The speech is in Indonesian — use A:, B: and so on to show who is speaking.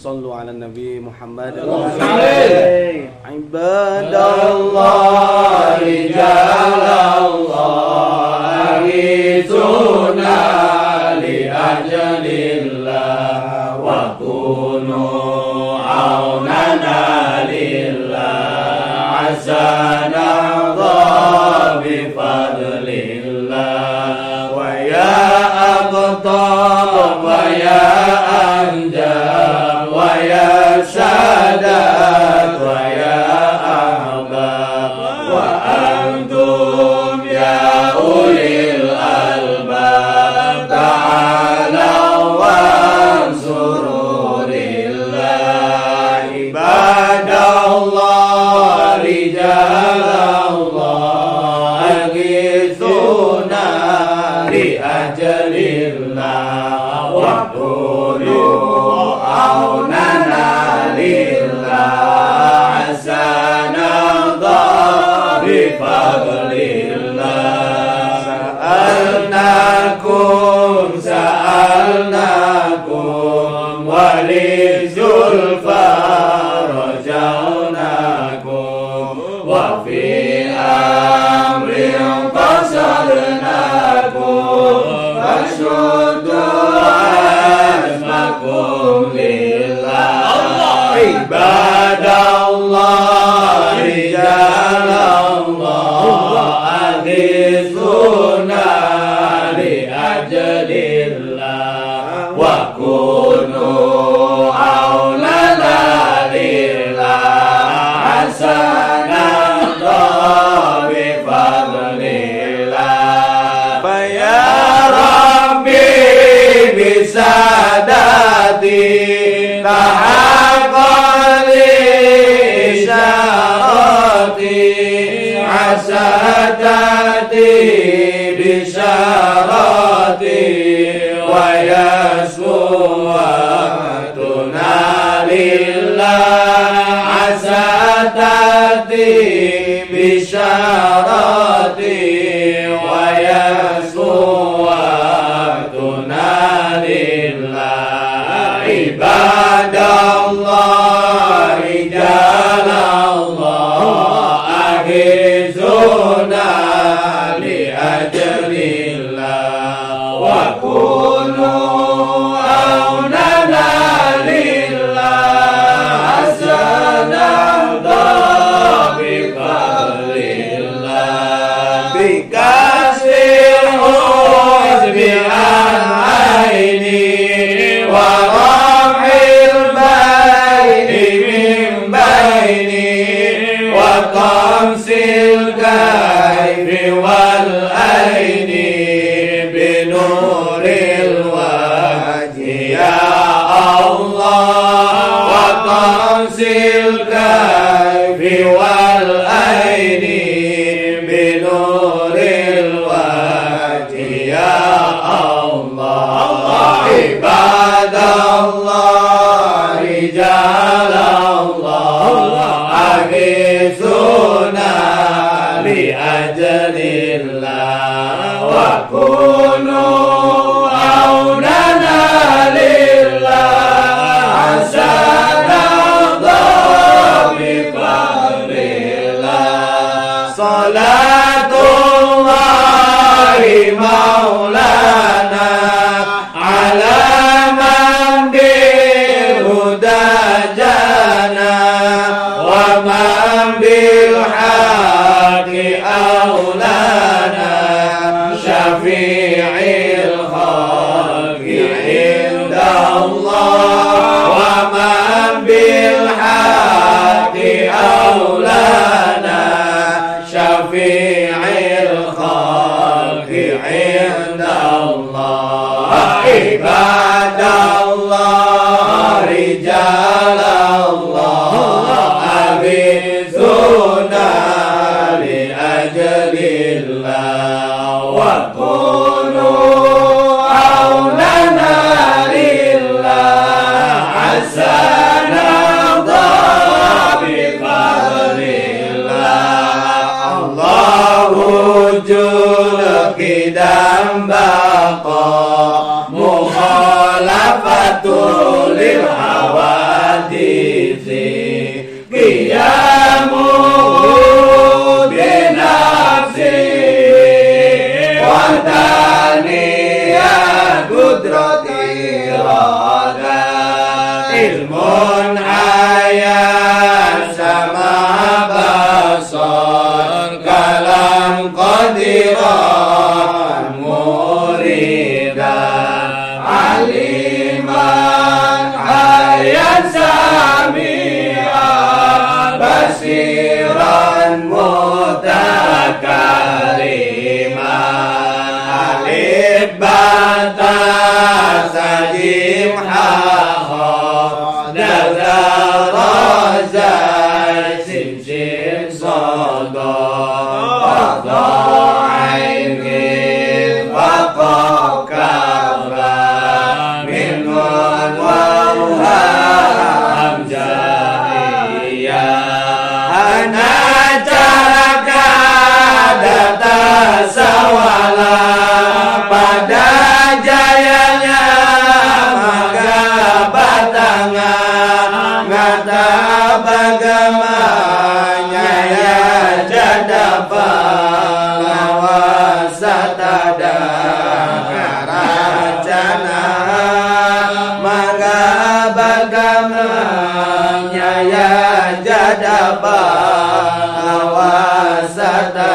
A: Sallu ala Nabi Muhammad.
B: Ibadallah rijalallah aghithuna li ajlillah wa kunu aunana lillah asanadha bi fadlillah wa ya aqtab wa ya anjab wa ya sadat wa ya ahbab wa antum ya ulil albab ta'ala wansuru lillah ibadallah rijalallah aghithuna li ajlillah wa kunu aunana lillah asanadha bi fadlillah sa'alnakum wali zulfa rajaunakum wa fi amrin qasadnakum fashuddu asmakum lillah ibadallah rijalallah aghithuna li ajlillah wa kunu aulana lillah hasanadha bi fadlillah fa ya rabbi bisadati tahaqqali syarati asadati bisyarati wa yasmu'atuna lillah asadati bisyarati wa yasmu'atuna lillah ibadallah rijalallah aghithuna li ajlillah wa kunu aunana lillah asanadha bi fadlillah bi kasril huzbi an aini wa raf'il baini min baini wa qamsil kayfi wal aini bi nuril wajhi ya Allah wa qamsil kayfi wal aini bi nuril wajhi ya Allah ibadallah rijalallah aghithuna li ajlillah wa kunu aunana lillah hasanadha bi fadlillah salatullahi maulana ala man bil huda jana wa man bil haqi aulana syafi'il khalqi indallah wa man bil haqi aulana syafi'il khalqi indallah ibadallah rijalallah aghithuna li ajlillah wa kunu aunana lillah hasanadha bi fadlillah Allahu jul kidam baqa mukhalafatul lil hawa ilmun ayat sama basar kalam qadiran muridan aliman ayat sami'an basiran mutakariman alif bata sajim pada jayanya maka batangan ngata bagamanya ya jadapa lawasatada karacana maka bagamanya ya jadapa lawasata